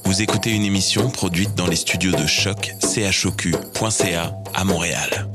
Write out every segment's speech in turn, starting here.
Vous écoutez une émission produite dans les studios de Choc, choq.ca à Montréal.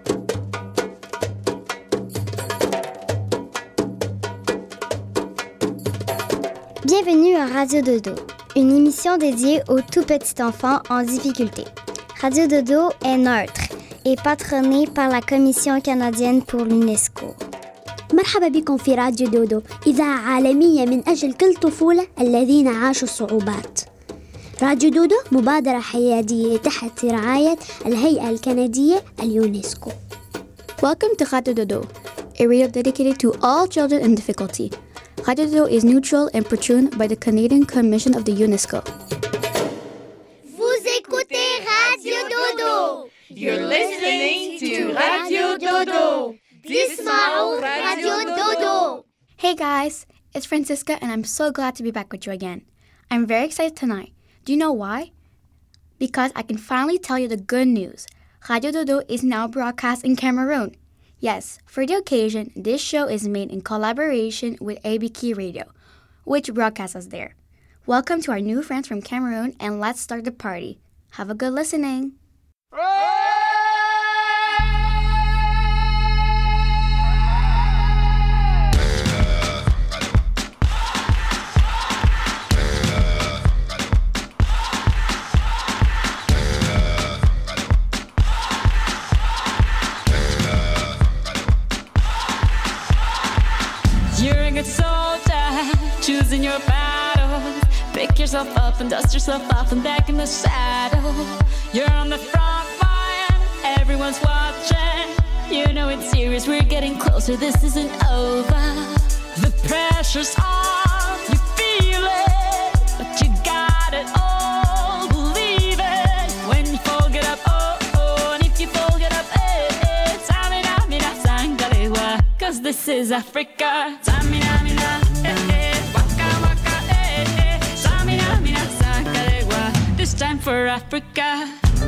Bienvenue à Radio Dodo, une émission dédiée aux tout petits enfants en difficulté. Radio Dodo est neutre et patronnée par la Commission canadienne pour l'UNESCO. مرحبا بكم في راديو دودو، إذاعة عالمية من أجل كل طفولة الذين عاشوا الصعوبات. راديو دودو مبادرة حيادية تحت رعاية الهيئة الكندية اليونسكو. Welcome to Radio Dodo, a radio dedicated to all children in difficulty. Radio Dodo is neutral and patroned by the Canadian Commission of the UNESCO. Vous écoutez Radio Dodo. You're listening to Radio Dodo. Dismao Radio Dodo. Hey guys, it's Francisca and I'm so glad to be back with you again. I'm very excited tonight. Do you know why? Because I can finally tell you the good news. Radio Dodo is now broadcast in Cameroon. Yes, for the occasion, this show is made in collaboration with ABK Radio, which broadcasts us there. Welcome to our new friends from Cameroon and let's start the party. Have a good listening. You're a good soldier, choosing your battles. Pick yourself up and dust yourself off and back in the saddle. You're on the front line, everyone's watching. You know it's serious, we're getting closer, this isn't over. The pressure's on, you feel it, but you got it all, believe it. When you fall, get up, oh, oh, and if you fall, get up, eh, eh. Samina, mina, sangalewa, 'cause this is Africa. Samina, mina, eh, eh, waka, waka, eh, eh. Samina, mina, sangalewa, this time for Africa.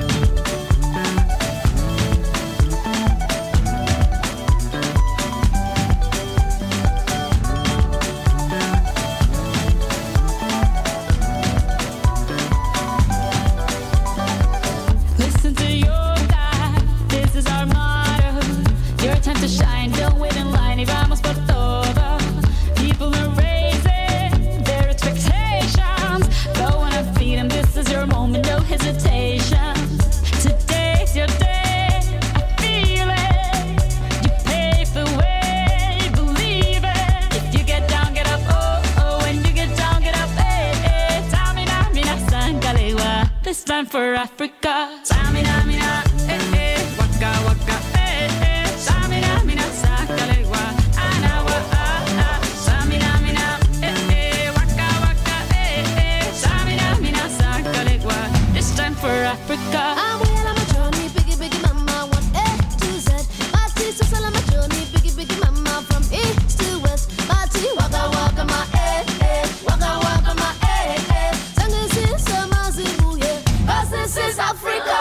Listen to your God, this is our motto. Your time to shine, don't wait in line, y vamos por todo. People are raising their expectations. Go on and feed them, this is your moment, no hesitation. Today's your day, I feel it. You pave the way, believe it. If you get down, get up, oh, oh. When you get down, get up, eh, eh. Tamina, mina, sangalewa, this time for Africa. Tamina, mina, eh, eh. Waka, waka, eh, eh. Tamina, mina, sangalewa, anawa, ah, ah. Tamina, mina, eh, eh. Waka, waka, eh, eh. Tamina, mina, sangalewa, this time for Africa. I'm well on my journey, biggie, biggie mama, 1 A to Z. Party, so on my journey, biggie, biggie mama, from east to west. Party, waka, waka, my eh, eh. Waka, waka, my eh, eh. Tango, sin, sama, zibu, yeah. 'Cause this is Africa.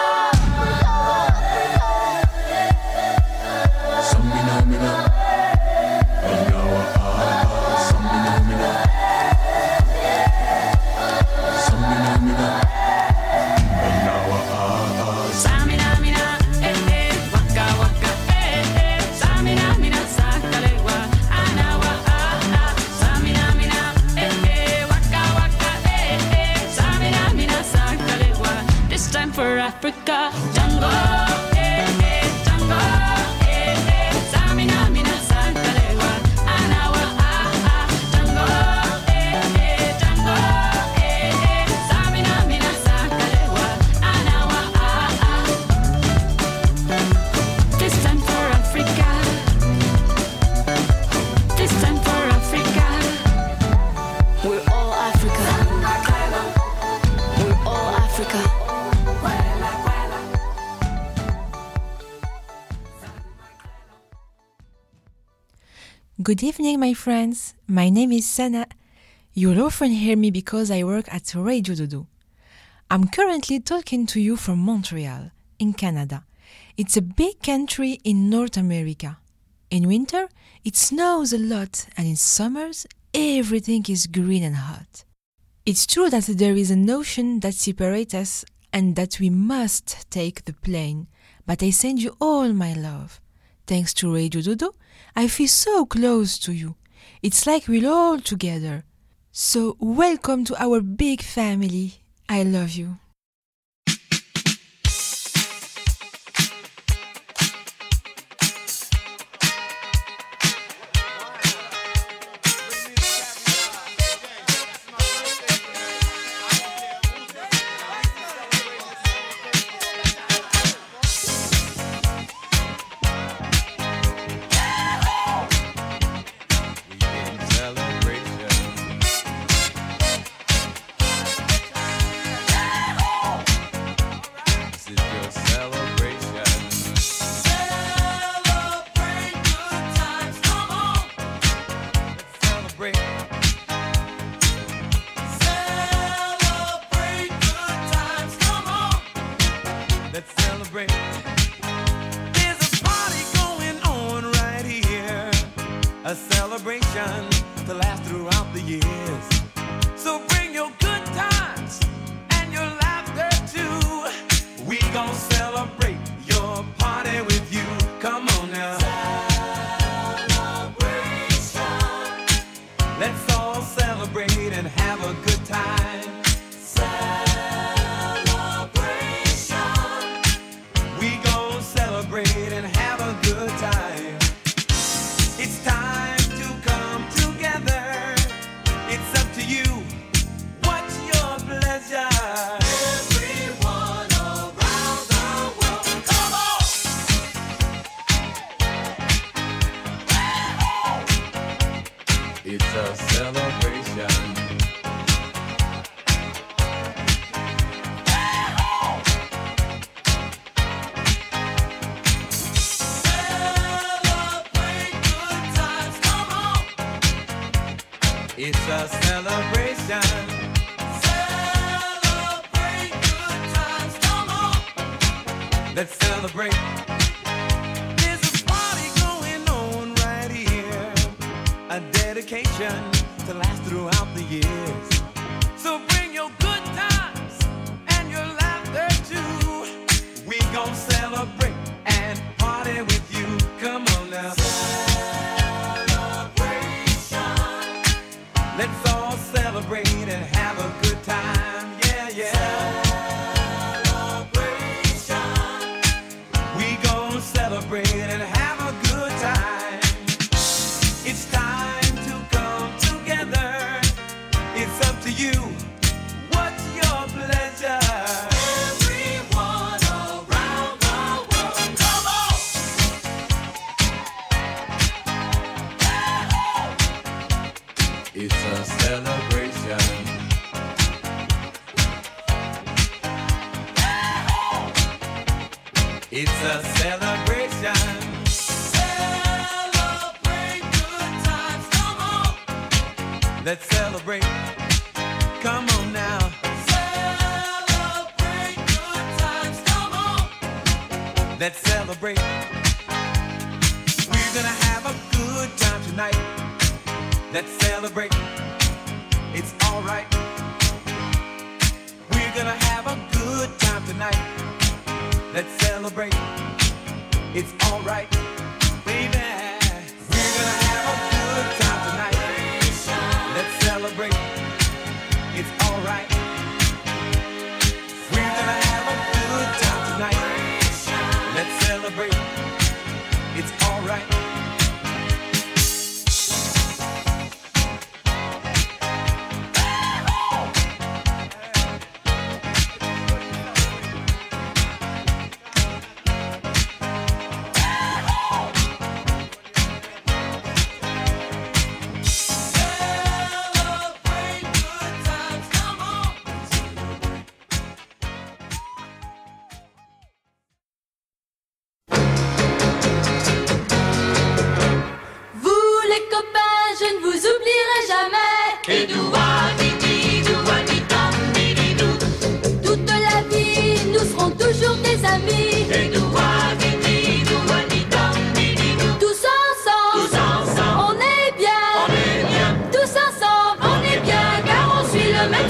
Samina, mina, eh, eh. Waka, waka, eh, eh. Samina, mina, sangalewa, anawa, ah, ah. Samina, mina, eh, eh. Waka, waka, eh, eh. Samina, mina, sangalewa, this time for Africa. Jungle, eh, eh. Jungle, eh, eh. Samina, mina, sangalewa, anawa, ah, ah. Jungle, eh, eh. Jungle, eh, eh. Samina, mina, sangalewa, anawa, ah, ah. This time for Africa. This time for Africa. We're all Africa. We're all Africa. Good evening, my friends. My name is Sana. You'll often hear me because I work at Radio Dodo. I'm currently talking to you from Montreal, in Canada. It's a big country in North America. In winter, it snows a lot, and in summers, everything is green and hot. It's true that there is an ocean that separates us and that we must take the plane, but I send you all my love. Thanks to Radio Dodo, I feel so close to you. It's like we're all together. So welcome to our big family. I love you. It's a celebration. Celebrate good times, come on. Let's celebrate. There's a party going on right here. A dedication to last throughout the years. So bring your good times and your laughter too. We gon' celebrate and party with you. Come on now. Let's all celebrate and have a good time, yeah, yeah. Celebration. We gon' celebrate and have a good time. It's time to come together. It's up to you. What's your pleasure? Everyone around the world, come on. It's a celebration. It's a celebration. Celebrate good times, come on. Let's celebrate. Come on now. Celebrate good times, come on. Let's celebrate. We're gonna have a good time tonight. Let's celebrate. It's alright. We're gonna have a good time tonight. Let's celebrate. It's alright, baby. We're gonna have a good time tonight. Let's celebrate. It's alright. We're gonna have a good time tonight. Let's celebrate. It's alright. Celebrate good times, come on.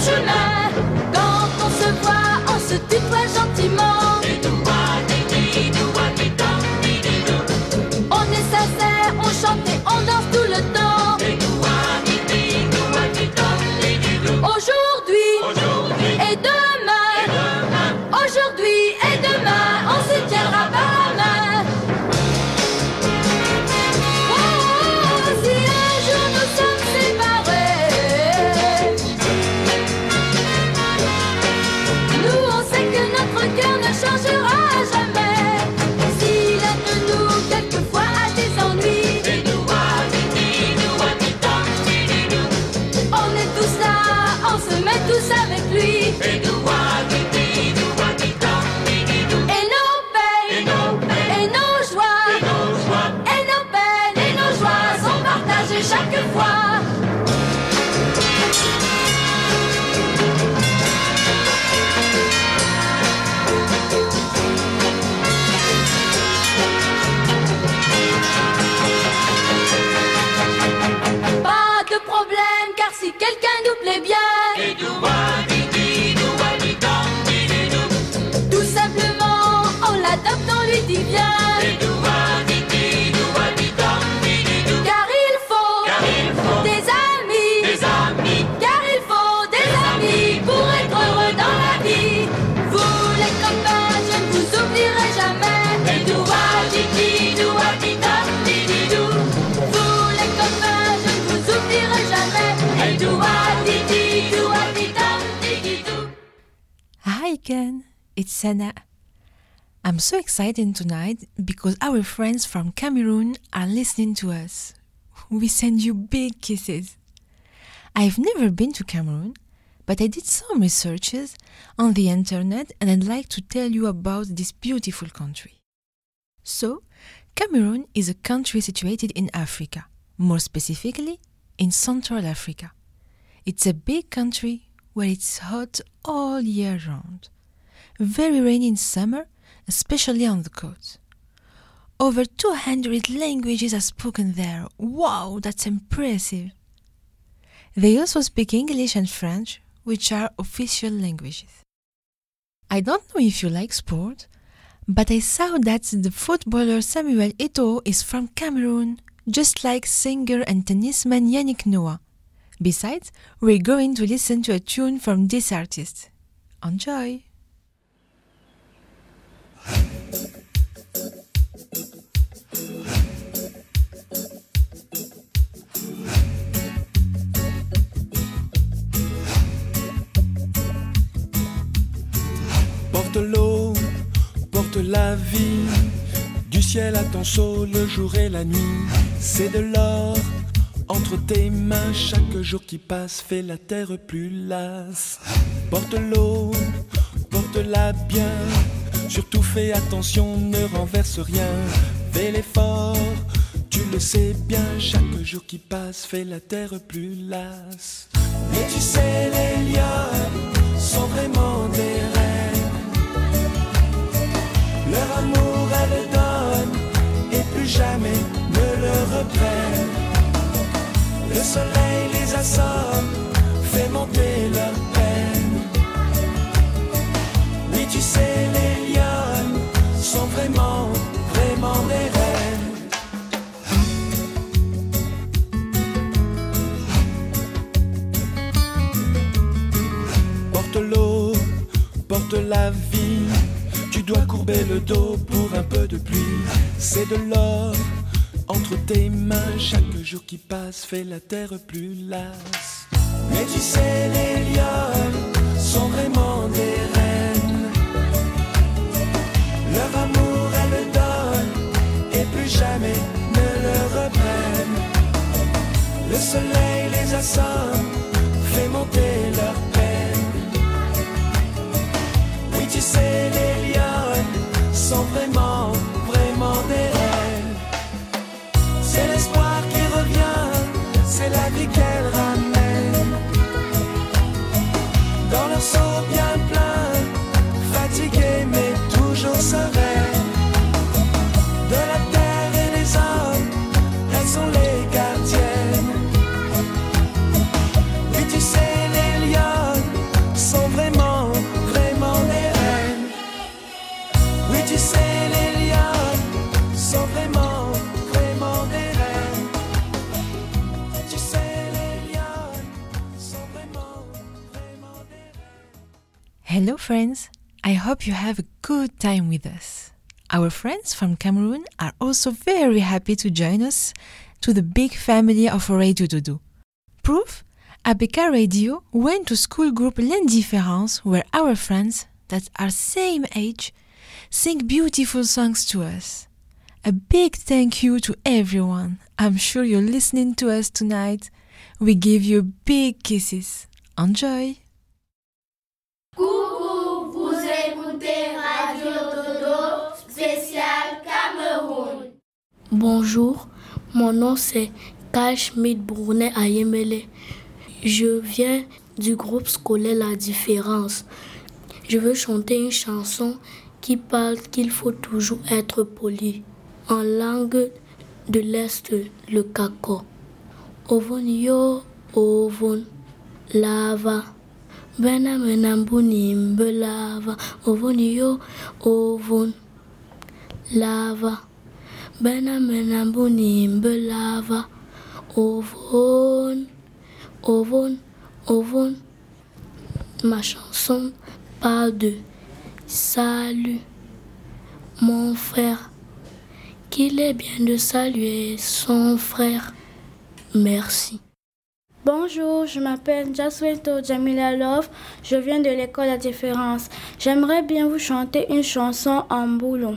chemin. Quand on se voit, on se tutoie gentiment. On est sincère, on chante et on danse tout le temps. Aujourd'hui et demain, aujourd'hui et demain, on se tiendra par la main. Oh, si un jour nous sommes séparés, nous on sait que notre cœur ne changera jamais. Si l'un de nous quelquefois a des ennuis, on est tous là, on se met tous avec lui. Et nos peines, et nos joies, et nos peines, et nos joies sont partagées chaque fois. Pas de problème, car si quelqu'un nous plaît bien, tout simplement on l'adopte, on lui dit bien. Car il faut des amis, car il faut des amis pour être heureux dans la vie. Vous les copains, je ne vous oublierai jamais. Vous les copains, je ne vous oublierai jamais. Hi again, it's Sana. I'm so excited tonight because our friends from Cameroon are listening to us. We send you big kisses. I've never been to Cameroon, but I did some researches on the internet and I'd like to tell you about this beautiful country. So, Cameroon is a country situated in Africa, more specifically in Central Africa. It's a big country where it's hot all year round. Very rainy in summer, especially on the coast. Over 200 languages are spoken there. Wow, that's impressive. They also speak English and French, which are official languages. I don't know if you like sport, but I saw that the footballer Samuel Eto'o is from Cameroon, just like singer and tennisman Yannick Noah. Besides, we're going to listen to a tune from this artist. Enjoy! Porte l'eau, porte la vie, du ciel à ton seau, le jour et la nuit. C'est de l'or entre tes mains, chaque jour qui passe fait la terre plus lasse. Porte l'eau, porte-la bien, surtout fais attention, ne renverse rien. Fais l'effort, tu le sais bien, chaque jour qui passe fait la terre plus lasse. Mais tu sais, les lionnes sont vraiment des reines. Leur amour elles donnent et plus jamais ne le reprennent. Le soleil les assomme, fait monter leur peine. Oui, tu sais, les lionnes sont vraiment, vraiment des reines. Porte l'eau, porte la vie, tu dois courber le dos pour un peu de pluie. C'est de l'or entre tes mains, chaque jour qui passe fait la terre plus lasse. Mais tu sais, les lionnes sont vraiment des reines. Leur amour elles donnent et plus jamais ne le reprennent. Le soleil les assomme, fait monter leur peine. Oui, tu sais, les lionnes sont vraiment, vraiment des reines. C'est l'espoir qui revient, c'est la vie qu'elles ramènent. Dans leur seau bien plein, fatiguées mais toujours sereines. De la terre et des hommes, elles sont les gardiennes. Oui, tu sais, les lionnes Hello friends, I hope you have a good time with us. Our friends from Cameroon are also very happy to join us to the big family of Radio Dodo. Proof? ABK Radio went to school group L'Indifférence where our friends that are same age sing beautiful songs to us. A big thank you to everyone. I'm sure you're listening to us tonight. We give you big kisses. Enjoy! Coucou, vous écoutez Radio Dodo spécial Cameroun. Bonjour, mon nom c'est Carl Schmidt Brunet Ayemele. Je viens du groupe scolaire La Différence. Je veux chanter une chanson qui parle qu'il faut toujours être poli. En langue de l'Est, le Kako. Ovon yo, ovon, lava. Bena menambuni mbelava. Ovon yo, ovon, lava. Bena menambuni mbelava. Ovon, ovon, ovon. Ma chanson parle de salut, mon frère. Qu'il est bien de saluer son frère. Merci. Bonjour, je m'appelle Jaswinto Jamila Love, je viens de l'école La Différence. J'aimerais bien vous chanter une chanson en boulon.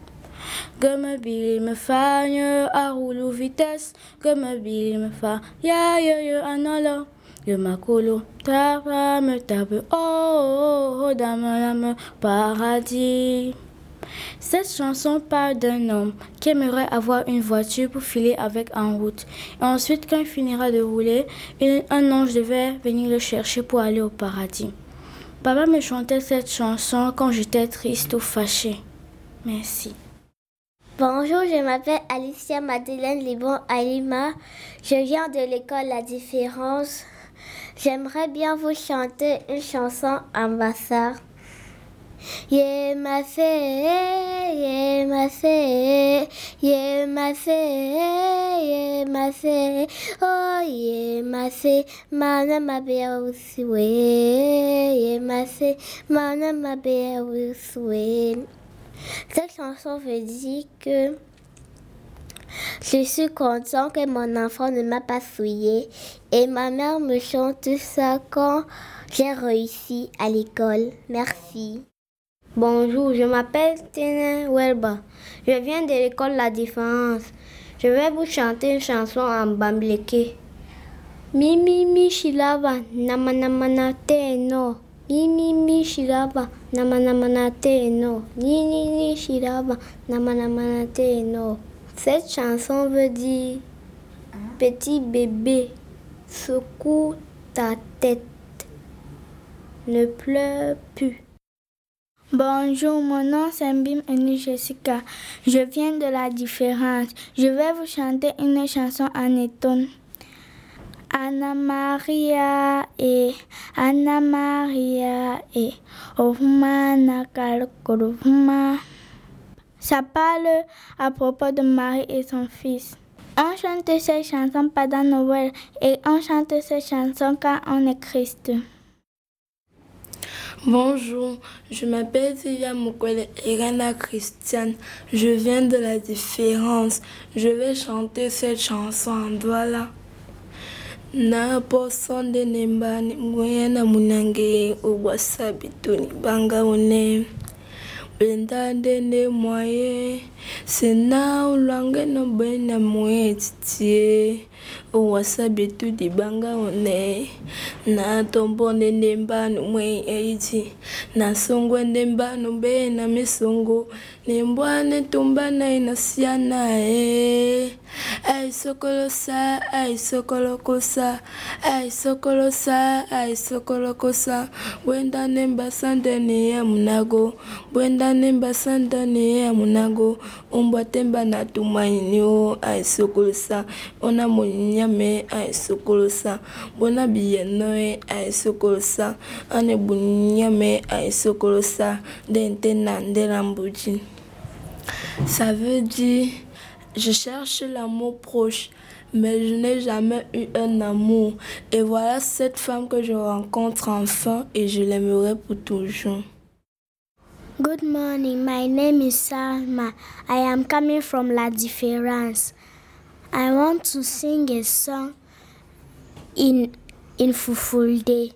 Gomme bili me fa nye a roulou vitesse, gomme bili me fa ya yo yo anolo. Yo makolo tapa me tape oh dame paradis. Cette chanson parle d'un homme qui aimerait avoir une voiture pour filer avec en route. Et ensuite, quand il finira de rouler, un ange devait venir le chercher pour aller au paradis. Papa me chantait cette chanson quand j'étais triste ou fâchée. Merci. Bonjour, je m'appelle Alicia Madeleine Libon Alima. Je viens de l'école La Différence. J'aimerais bien vous chanter une chanson en bassa. Ye ma fée, ye ma fée, ye ma fée, ye ma fée, oh ye ma fée, mana ma bea uswe, ye ma fée, mana ma bea uswe. Cette chanson veut dire que je suis content que mon enfant ne m'a pas souillé et ma mère me chante ça quand j'ai réussi à l'école. Merci. Bonjour, je m'appelle Tina Welba. Je viens de l'école La Différence. Je vais vous chanter une chanson en bambleke. Mi mi mi shilava nama nama na te no. Mi mi mi shilava nama nama na te no. Ni ni ni shilava nama nama na te no. Cette chanson veut dire petit bébé, secoue ta tête. Ne pleure plus. Bonjour, mon nom c'est Mbim Eni Jessica. Je viens de La Différence. Je vais vous chanter une chanson en étonne. Anna Maria e Ohuma Nakalkoruma. Ça parle à propos de Marie et son fils. On chante cette chanson pendant Noël et on chante cette chanson quand on est Christ. Bonjour, je m'appelle Zia Mukwele Irana Christiane. Je viens de La Différence. Je vais chanter cette chanson en Douala. Na posonde nembani mwena munange uwasabituni banga one. Bendande ne moye sena ulange no bena moye titie uwasabitu di banga one. Na tombone nembani mwe eiti na songwe nembani bena misongo nembwane tumbana inasiana ay sokolosa ay sokolokosa ay sokolosa ay sokolokosa wenda nemba sandane ya munago wenda nemba sandane ya munago umbwa temba na tumaini o ay sokolosa ona munyame ay sokolosa bona biyenoe ay sokolosa ane bunyame ay sokolosa dente nandela mbuji. Ça veut dire je cherche l'amour proche, mais je n'ai jamais eu un amour. Et voilà cette femme que je rencontre enfin et je l'aimerai pour toujours. Good morning, my name is Salma. I am coming from La Différence. I want to sing a song in Fulfulde.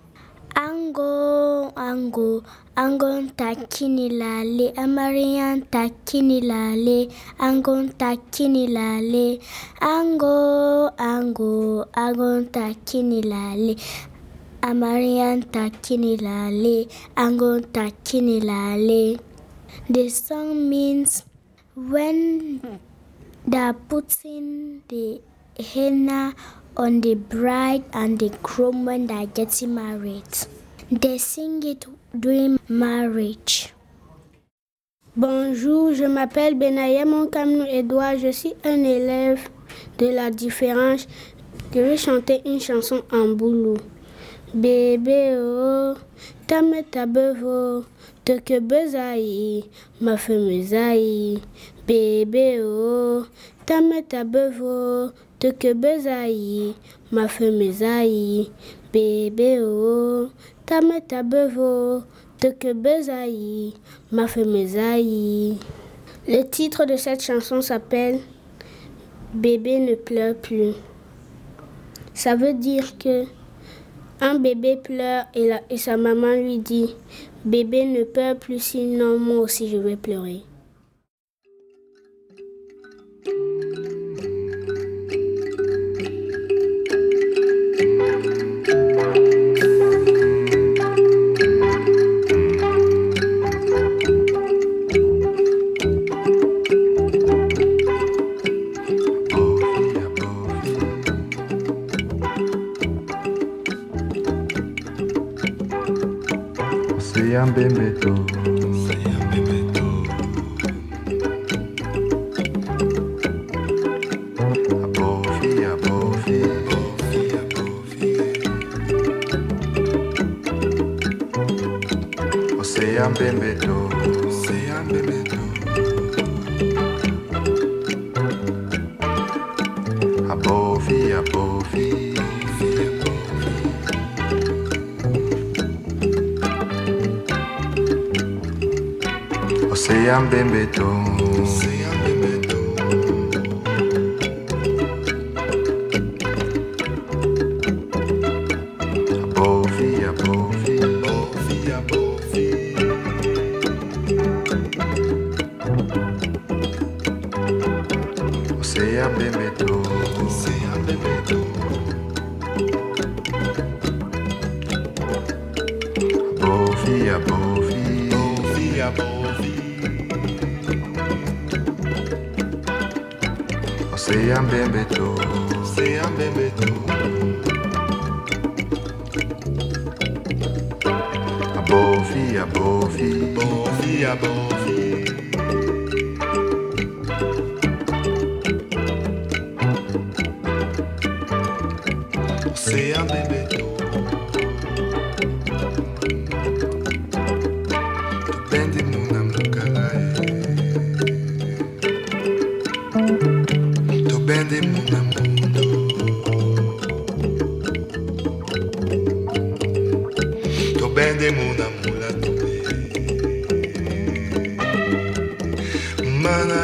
Ango, ango, angon takini lale, amarian takini lale, angon takini lale, ango, ango, angon takini lale, amarian takini lale, angon takini lale. The song means when they're putting the henna on the bride and the groom when they're getting married. They sing it during marriage. Bonjour, je m'appelle Benaya Monkamnou Edouard, je suis un élève de La Différence. Je vais chanter une chanson en boulou. Bébé oh, tame tabevo, te que bezaï, ma femme zaï. Bébé oh, tame tabevo, te que bezaï, ma femme zaï. Bébé oh, tame tabevo, te que bezaï, ma femme zaï. Le titre de cette chanson s'appelle Bébé ne pleure plus. Ça veut dire que un bébé pleure et sa maman lui dit « Bébé ne pleure plus, sinon moi aussi je vais pleurer ». Bebeto, abofi, abofi, Ocean Bebeto, abofi, abofi. Ocean Bebeto, abofi, abofi, abofi, abofi. Ocean Bebeto, Ocean Bebeto, abofi, abofi, abofi, abofi. Ocean Bebeto, Ocean Bebeto, abofi, abofi, abofi, abofi. Ocean Bebeto, bendi muna mukalae. Bende muna mundo, to bende muna mula tobe, mana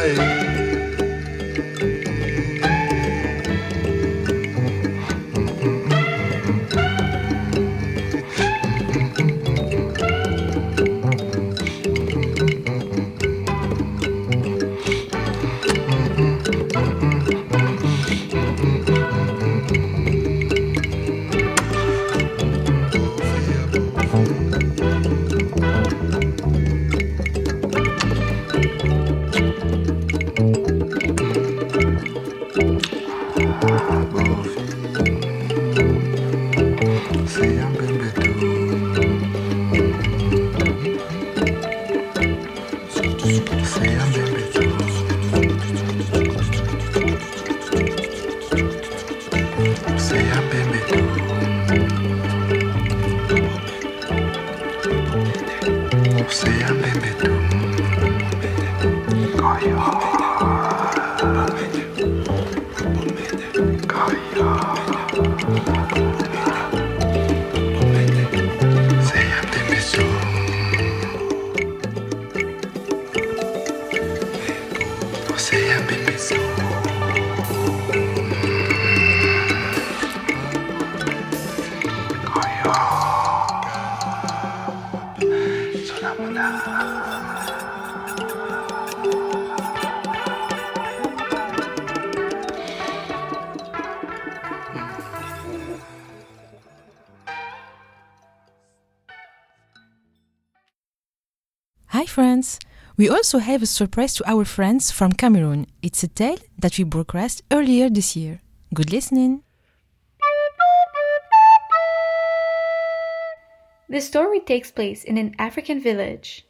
my friends. We also have a surprise to our friends from Cameroon. It's a tale that we broadcast earlier this year. Good listening. The story takes place in an African village.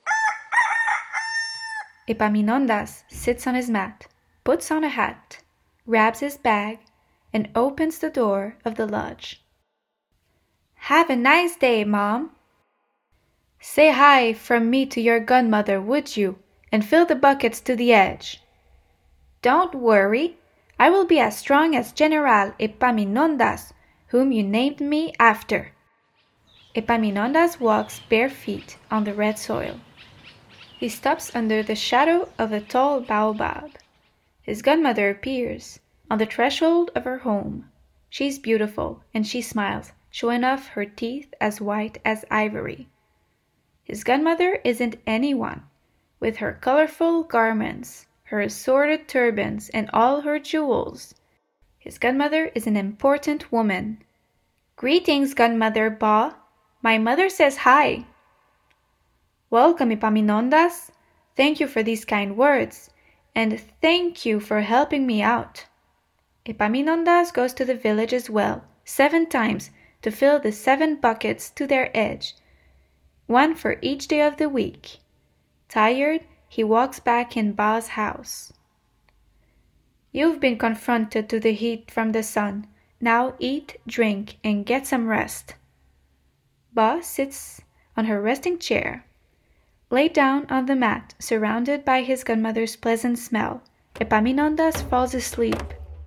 Epaminondas sits on his mat, puts on a hat, grabs his bag, and opens the door of the lodge. "Have a nice day, Mom. Say hi from me to your godmother, would you, and fill the buckets to the edge. Don't worry, I will be as strong as General Epaminondas, whom you named me after." Epaminondas walks bare feet on the red soil. He stops under the shadow of a tall baobab. His godmother appears on the threshold of her home. She's beautiful, and she smiles, showing off her teeth as white as ivory. His godmother isn't anyone. With her colorful garments, her assorted turbans, and all her jewels, his godmother is an important woman. "Greetings, Godmother Ba. My mother says hi." "Welcome, Epaminondas. Thank you for these kind words, and thank you for helping me out." Epaminondas goes to the village as well, 7 times, to fill the 7 buckets to their edge, 1 for each day of the week. Tired, he walks back in Ba's house. "You've been confronted to the heat from the sun. Now eat, drink, and get some rest." Ba sits on her resting chair. Laid down on the mat, surrounded by his godmother's pleasant smell, Epaminondas falls asleep.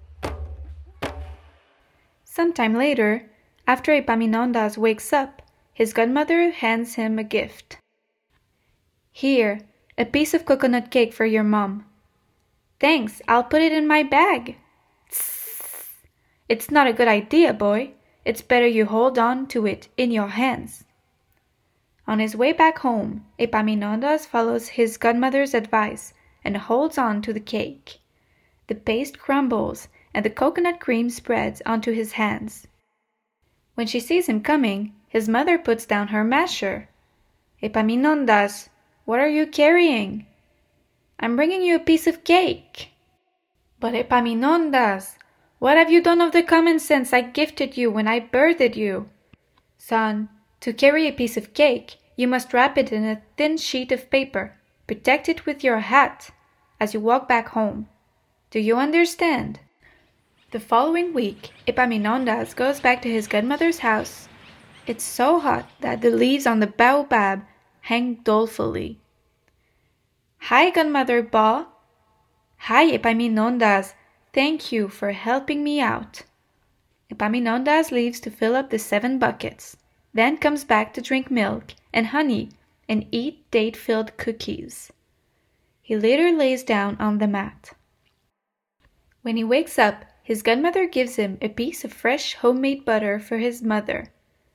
Some time later, after Epaminondas wakes up, his godmother hands him a gift. "Here, a piece of coconut cake for your mom." "Thanks, I'll put it in my bag." "Tss, it's not a good idea, boy. It's better you hold on to it in your hands." On his way back home, Epaminondas follows his godmother's advice and holds on to the cake. The paste crumbles and the coconut cream spreads onto his hands. When she sees him coming, his mother puts down her masher. "Epaminondas, what are you carrying?" "I'm bringing you a piece of cake." "But Epaminondas, what have you done of the common sense I gifted you when I birthed you?" "Son, to carry a piece of cake, you must wrap it in a thin sheet of paper, protect it with your hat, as you walk back home. Do you understand?" The following week, Epaminondas goes back to his godmother's house. It's so hot that the leaves on the baobab hang dolefully. "Hi, Godmother Ba." "Hi, Epaminondas. Thank you for helping me out." Epaminondas leaves to fill up the 7 buckets, then comes back to drink milk and honey and eat date-filled cookies. He later lays down on the mat. When he wakes up, his godmother gives him a piece of fresh homemade butter for his mother.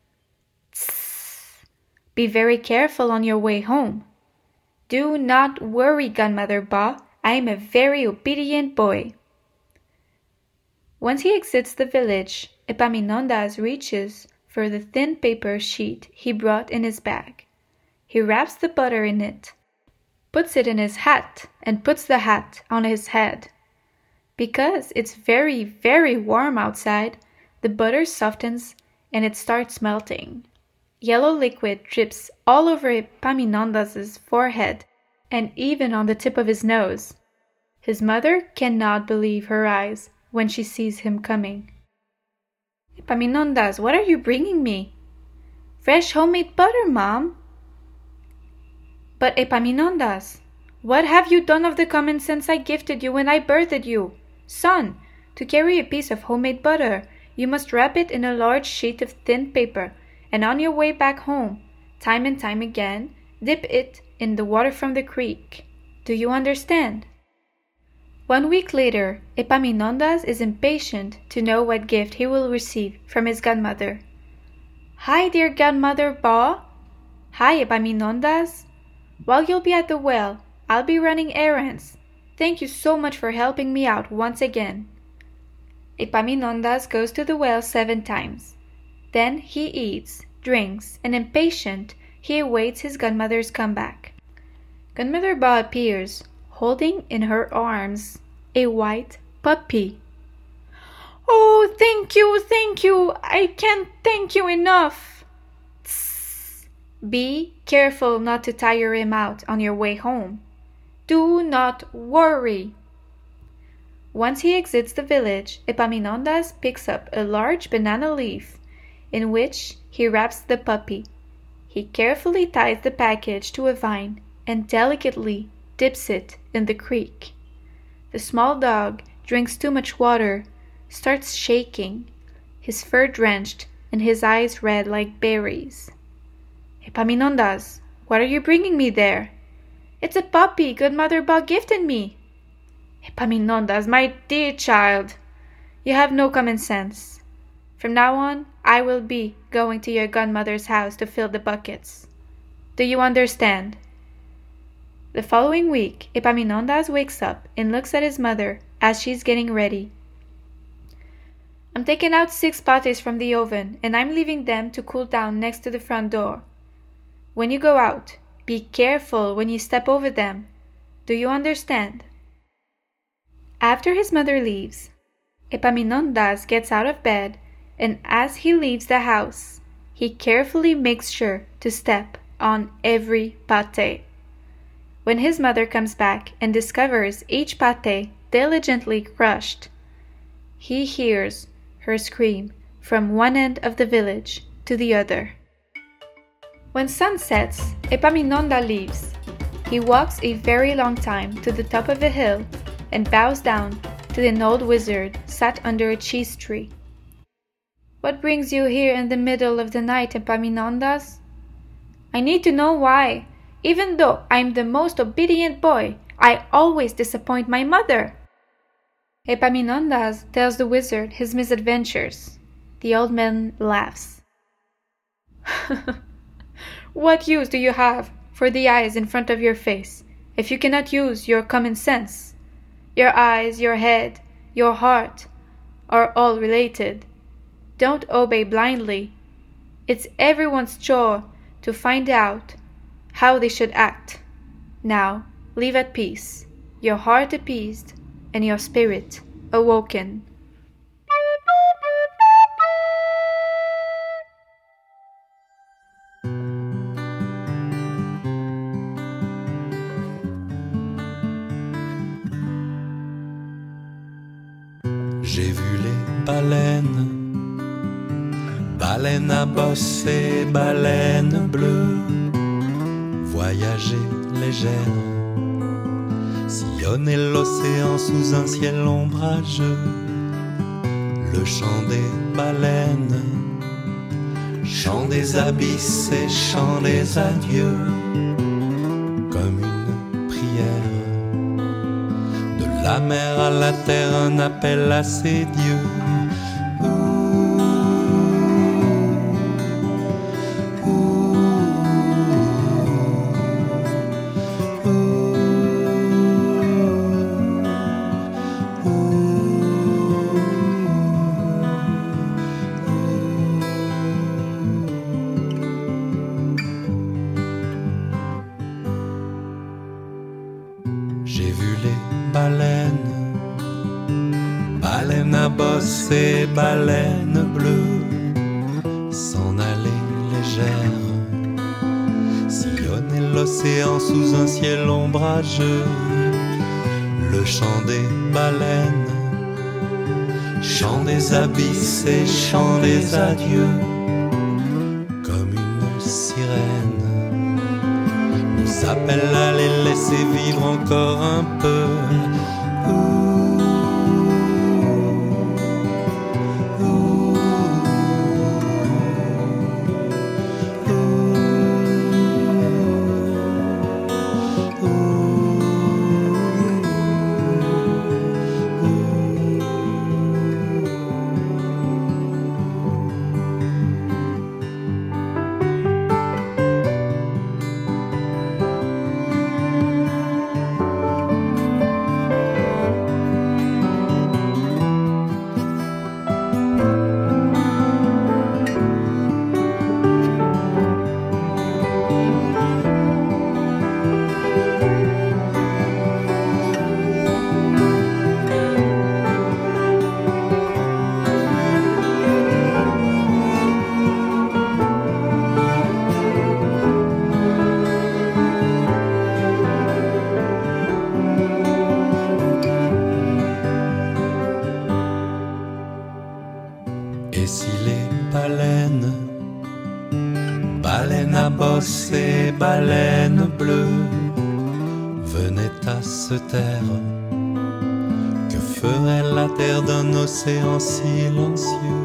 "Tss, be very careful on your way home." "Do not worry, Godmother Ba. I am a very obedient boy." Once he exits the village, Epaminondas reaches for the thin paper sheet he brought in his bag. He wraps the butter in it, puts it in his hat, and puts the hat on his head. Because it's very, very warm outside, the butter softens and it starts melting. Yellow liquid drips all over Epaminondas' forehead and even on the tip of his nose. His mother cannot believe her eyes when she sees him coming. "Epaminondas, what are you bringing me?" "Fresh homemade butter, Mom." "But Epaminondas, what have you done of the common sense I gifted you when I birthed you? Son, to carry a piece of homemade butter, you must wrap it in a large sheet of thin paper, and on your way back home, time and time again, dip it in the water from the creek. Do you understand?" 1 week later, Epaminondas is impatient to know what gift he will receive from his godmother. "Hi, dear Godmother Ba." "Hi, Epaminondas. While you'll be at the well, I'll be running errands. Thank you so much for helping me out once again." Epaminondas goes to the well 7 times. Then he eats, drinks, and impatient, he awaits his godmother's comeback. Grandmother Ba appears, holding in her arms a white puppy. Oh, thank you, I can't thank you enough. Tss. Be careful not to tire him out on your way home. Do not worry. Once he exits the village, Epaminondas picks up a large banana leaf in which he wraps the puppy. He carefully ties the package to a vine and delicately dips it in the creek. The small dog drinks too much water, starts shaking, his fur drenched and his eyes red like berries. Epaminondas, what are you bringing me there? It's a puppy Godmother Ba gifted me. Epaminondas, my dear child, you have no common sense. From now on, I will be going to your godmother's house to fill the buckets. Do you understand? The following week, Epaminondas wakes up and looks at his mother as she's getting ready. I'm taking out 6 pates from the oven and I'm leaving them to cool down next to the front door. When you go out, be careful when you step over them. Do you understand? After his mother leaves, Epaminondas gets out of bed, and as he leaves the house, he carefully makes sure to step on every pate. When his mother comes back and discovers each pate diligently crushed, he hears her scream from one end of the village to the other. When sun sets, Epaminondas leaves. He walks a very long time to the top of a hill and bows down to an old wizard sat under a cheese tree. What brings you here in the middle of the night, Epaminondas? I need to know why. Even though I'm the most obedient boy, I always disappoint my mother. Epaminondas tells the wizard his misadventures. The old man laughs. What use do you have for the eyes in front of your face if you cannot use your common sense? Your eyes, your head, your heart are all related. Don't obey blindly. It's everyone's chore to find out how they should act. Now, live at peace, your heart appeased and your spirit awoken. J'ai vu les baleines, baleines à bosse et baleines bleues, voyager légère, sillonner l'océan sous un ciel ombrageux. Le chant des baleines, chant des abysses et chant des adieux, comme une prière. De la mer à la terre, un appel à ses dieux. J'ai vu les baleines, baleines à bosse et baleines bleues, s'en aller légères, sillonner l'océan sous un ciel ombrageux. Le chant des baleines, chant des abysses et chant des adieux, comme une sirène, nous appelle à les laisser vivre encore un peu. Baleine à bosser, baleine bleue, venait à se taire. Que ferait la terre d'un océan silencieux?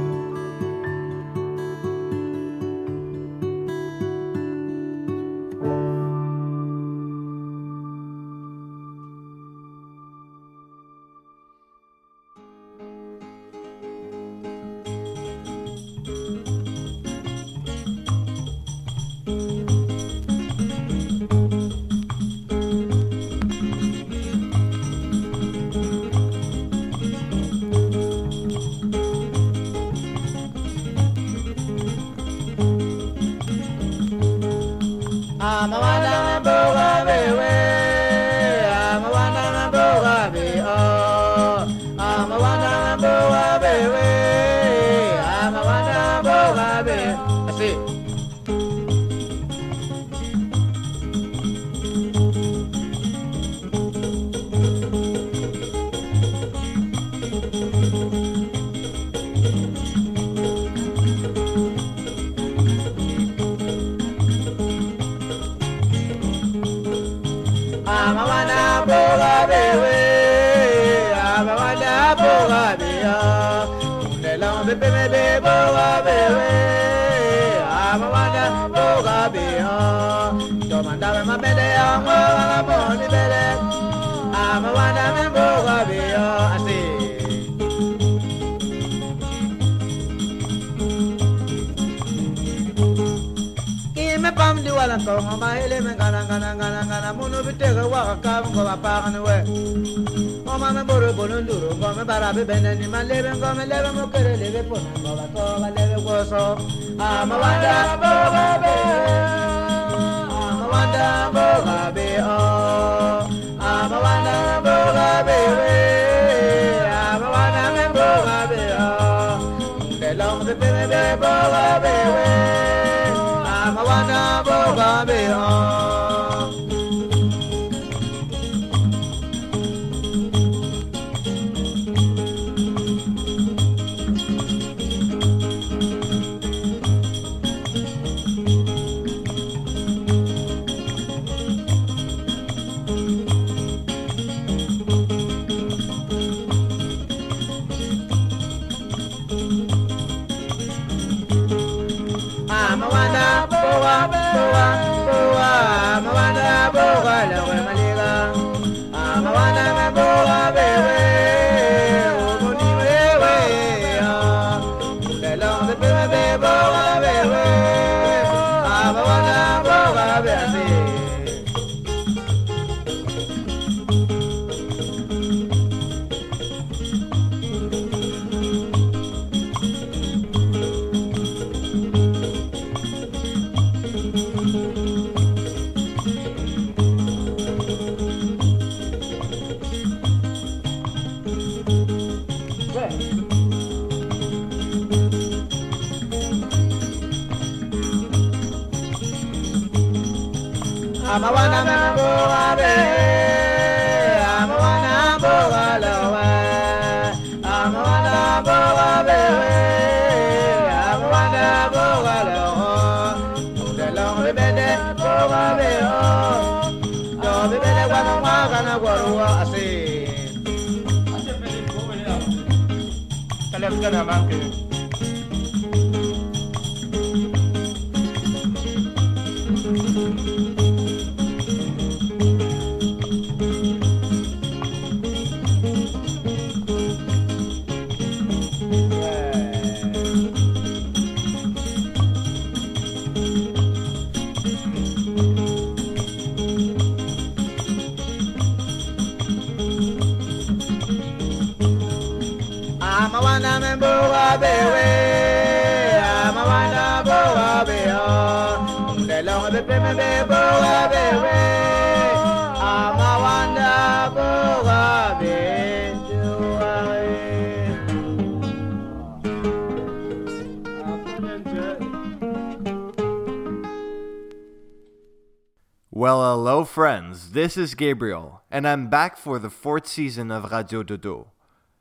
Well, hello friends, this is Gabriel, and I'm back for the 4th season of Radio Dodo.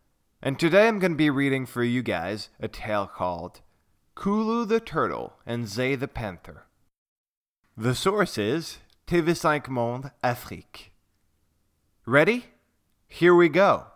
And today I'm going to be reading for you guys a tale called Kulu the Turtle and Zay the Panther. The source is TV5 Monde Afrique. Ready? Here we go.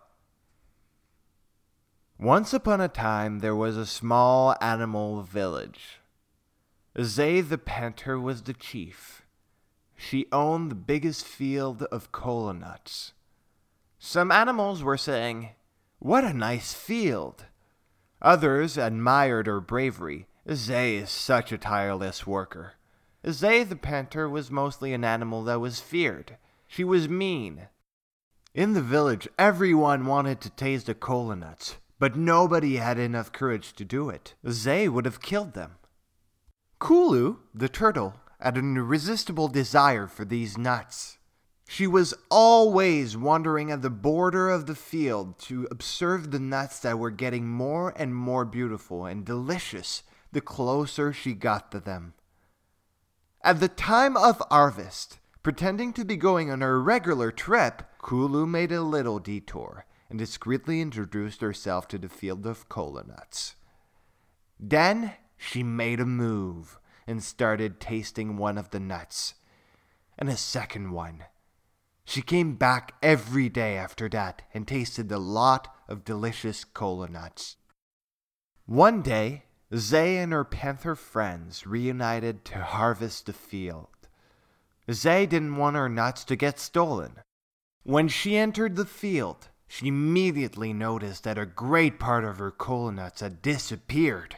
Once upon a time, there was a small animal village. Zay the panther was the chief. She owned the biggest field of kola nuts. Some animals were saying, "What a nice field." Others admired her bravery. Zay is such a tireless worker. Zay the panther was mostly an animal that was feared. She was mean. In the village, everyone wanted to taste the kola nuts, but nobody had enough courage to do it. Zay would have killed them. Kulu, the turtle, had an irresistible desire for these nuts. She was always wandering at the border of the field to observe the nuts that were getting more and more beautiful and delicious the closer she got to them. At the time of harvest, pretending to be going on a regular trip, Kulu made a little detour and discreetly introduced herself to the field of kola nuts. Then she made a move and started tasting one of the nuts, and a second one. She came back every day after that and tasted a lot of delicious kola nuts. One day, Zay and her panther friends reunited to harvest the field. Zay didn't want her nuts to get stolen. When she entered the field, she immediately noticed that a great part of her kola nuts had disappeared.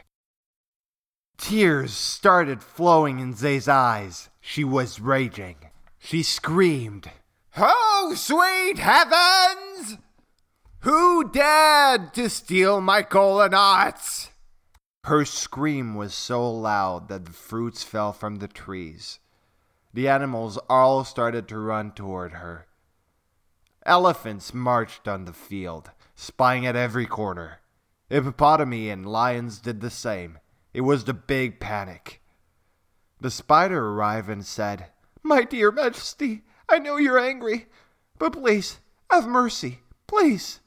Tears started flowing in Zay's eyes. She was raging. She screamed, "Oh, sweet heavens! Who dared to steal my kola nuts?" Her scream was so loud that the fruits fell from the trees. The animals all started to run toward her. Elephants marched on the field, spying at every corner. Hippopotami and lions did the same. It was the big panic. The spider arrived and said, "My dear Majesty, I know you're angry, but please, have mercy, please."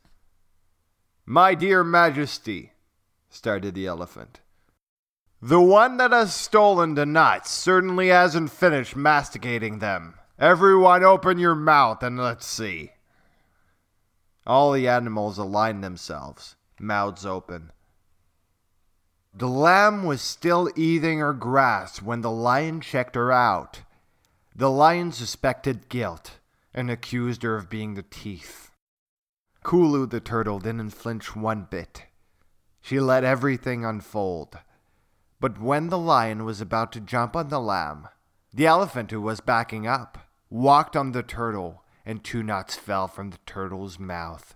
"My dear Majesty," started the elephant, "the one that has stolen the nuts certainly hasn't finished masticating them. Everyone open your mouth and let's see." All the animals aligned themselves, mouths open. The lamb was still eating her grass when the lion checked her out. The lion suspected guilt and accused her of being the thief. Kulu the turtle didn't flinch one bit. She let everything unfold. But when the lion was about to jump on the lamb, the elephant, who was backing up, walked on the turtle, and 2 nuts fell from the turtle's mouth.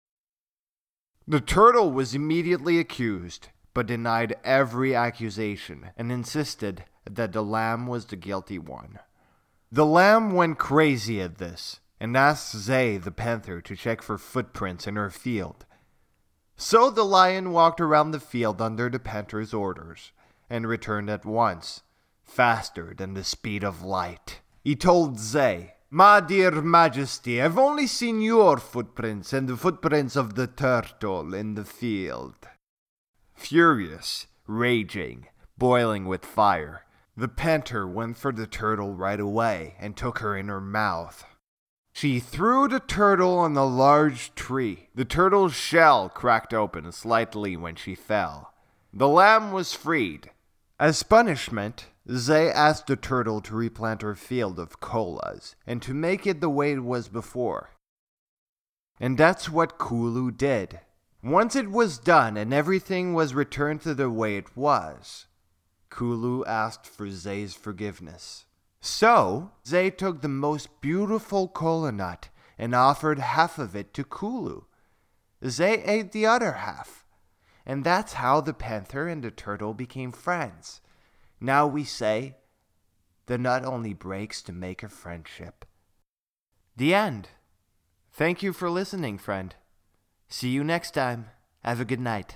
The turtle was immediately accused, but denied every accusation and insisted that the lamb was the guilty one. The lamb went crazy at this and asked Zay the panther to check for footprints in her field. So the lion walked around the field under the panther's orders and returned at once, faster than the speed of light. He told Zay, "My dear Majesty, I've only seen your footprints and the footprints of the turtle in the field." Furious, raging, boiling with fire, the panther went for the turtle right away and took her in her mouth. She threw the turtle on a large tree. The turtle's shell cracked open slightly when she fell. The lamb was freed. As punishment, Zay asked the turtle to replant her field of kolas and to make it the way it was before. And that's what Kulu did. Once it was done and everything was returned to the way it was, Kulu asked for Zay's forgiveness. So, Zay took the most beautiful kola nut and offered half of it to Kulu. Zay ate the other half. And that's how the panther and the turtle became friends. Now we say, the nut only breaks to make a friendship. The end. Thank you for listening, friend. See you next time. Have a good night.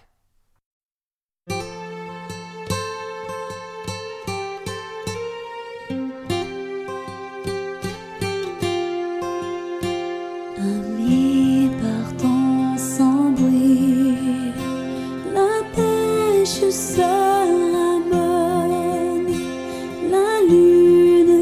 Amis partons sans bruit, la pêche sera bonne, la lune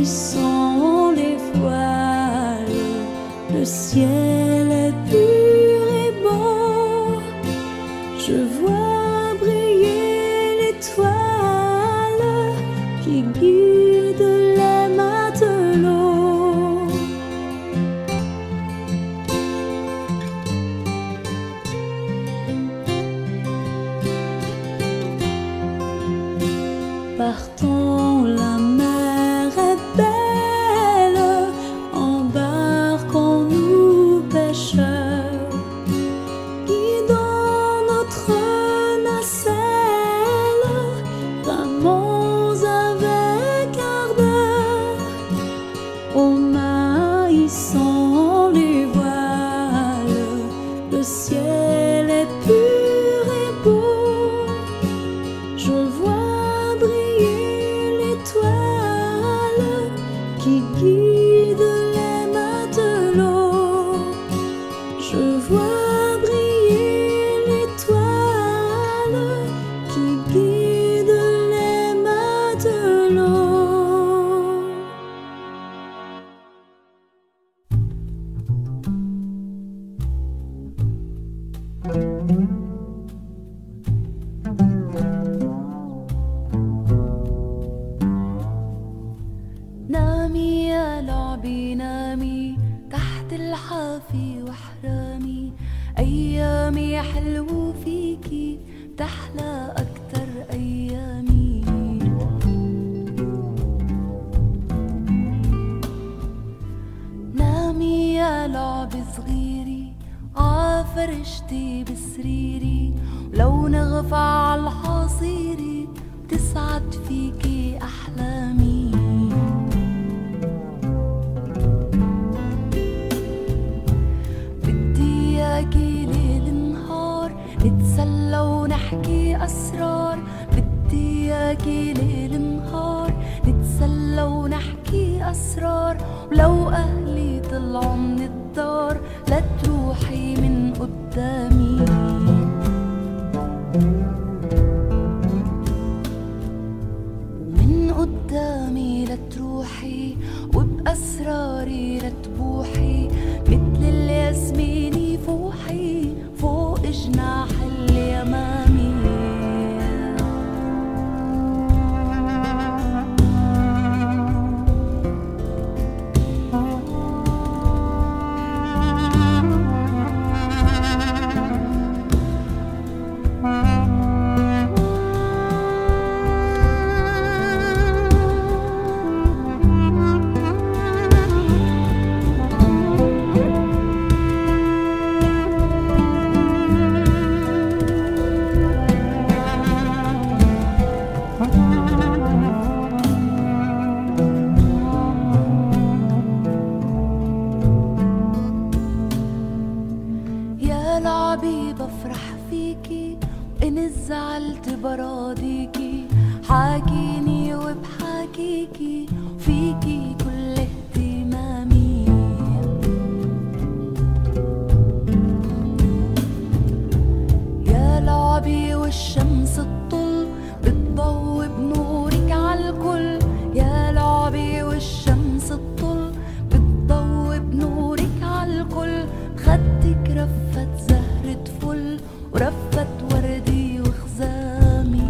hissant les voiles, le ciel est pur et beau. Je vois briller l'étoile qui guide les matelots. Partons, la mer est belle, embarquons-nous pêcheurs, guidons notre nacelle, ramons avec ardeur, au maïssant les voiles, le ciel est pur et beau. Je vois briller l'étoile qui guide les matelots. Je vois briller l'étoile qui guide les matelots. نامي يا لعبي نامي تحت الحافي واحرامي، أيامي حلو فيكي تحلى أكتر أيامي. نامي يا لعبي صغيري عفرشتي بسريري، ولو نغفى عالحصيري تسعد فيكي أحلامي. بدي ليل نهار نتسلى ونحكي أسرار، بدي إياكي ليل نهار نتسلى ونحكي أسرار، ولو أهلي طلعوا من الدار لا تروحي من قدامي. من قدامي لا تروحي وبأسراري لا تبوحي، مثل الياسمين فوحي فوق جناح اليمامي. زعلت براضيكي، حاكيني وبحاكيكي فيكي كل اهتمامي. يا لعبي والشمس الطل بتضوي بنورك عالكل، يا لعبي والشمس الطل بتضوي بنورك عالكل، بخدك رفت زهرة فل ورفت وردي وخزامي.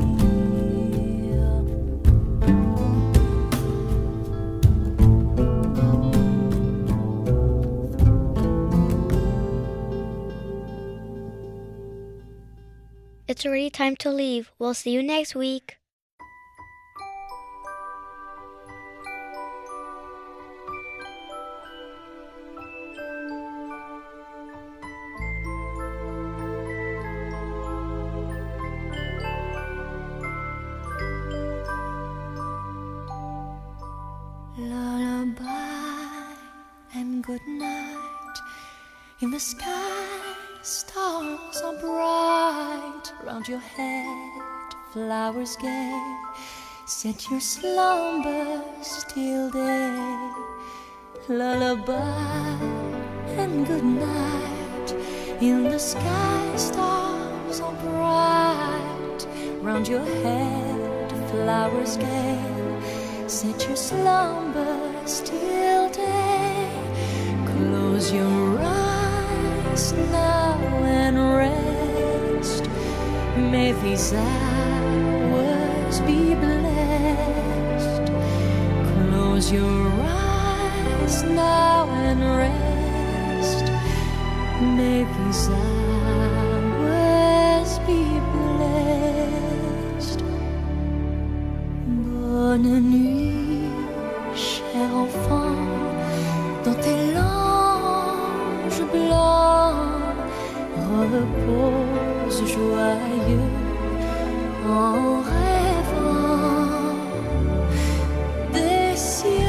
It's already time to leave. We'll see you next week. Lullaby and good night. In the sky, stars are bright. Round your head, flowers gay. Set your slumbers till day. Lullaby and good night. In the sky, stars are bright. Round your head, flowers gay. set your slumbers till day. Close your eyes now and rest. May these hours be blessed. Close your eyes now and rest. May these hours be blessed. Bonne nuit, cher enfant, dans tes langes blancs, repose joyeux en rêvant des cieux.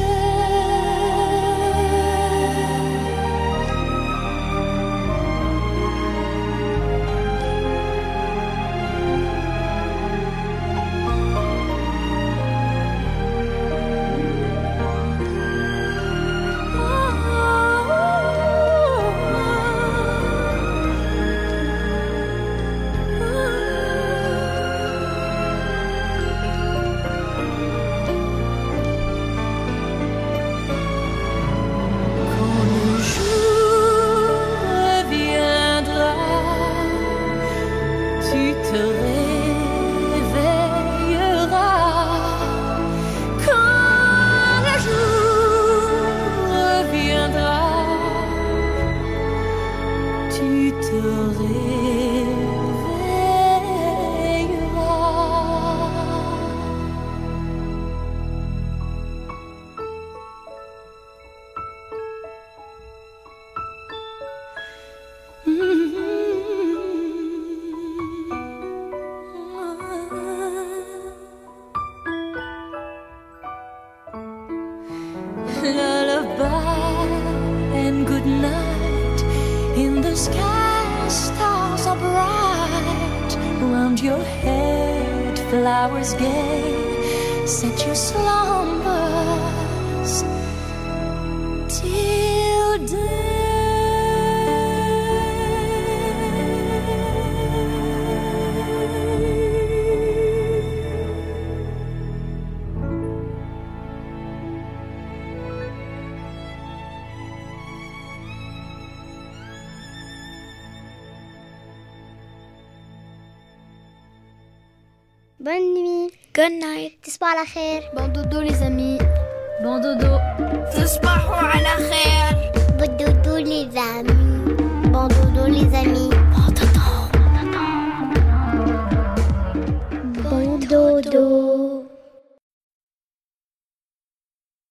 Lullaby and good night. In the sky, stars are bright. Round your head, flowers gay. Set your slumbers till day. Bonne nuit. Good night. تصبحوا على خير. Bon dodo les amis. Bon dodo. تصبحوا على خير. Bon dodo les amis. Bon dodo les amis. Bon dodo. Bon dodo.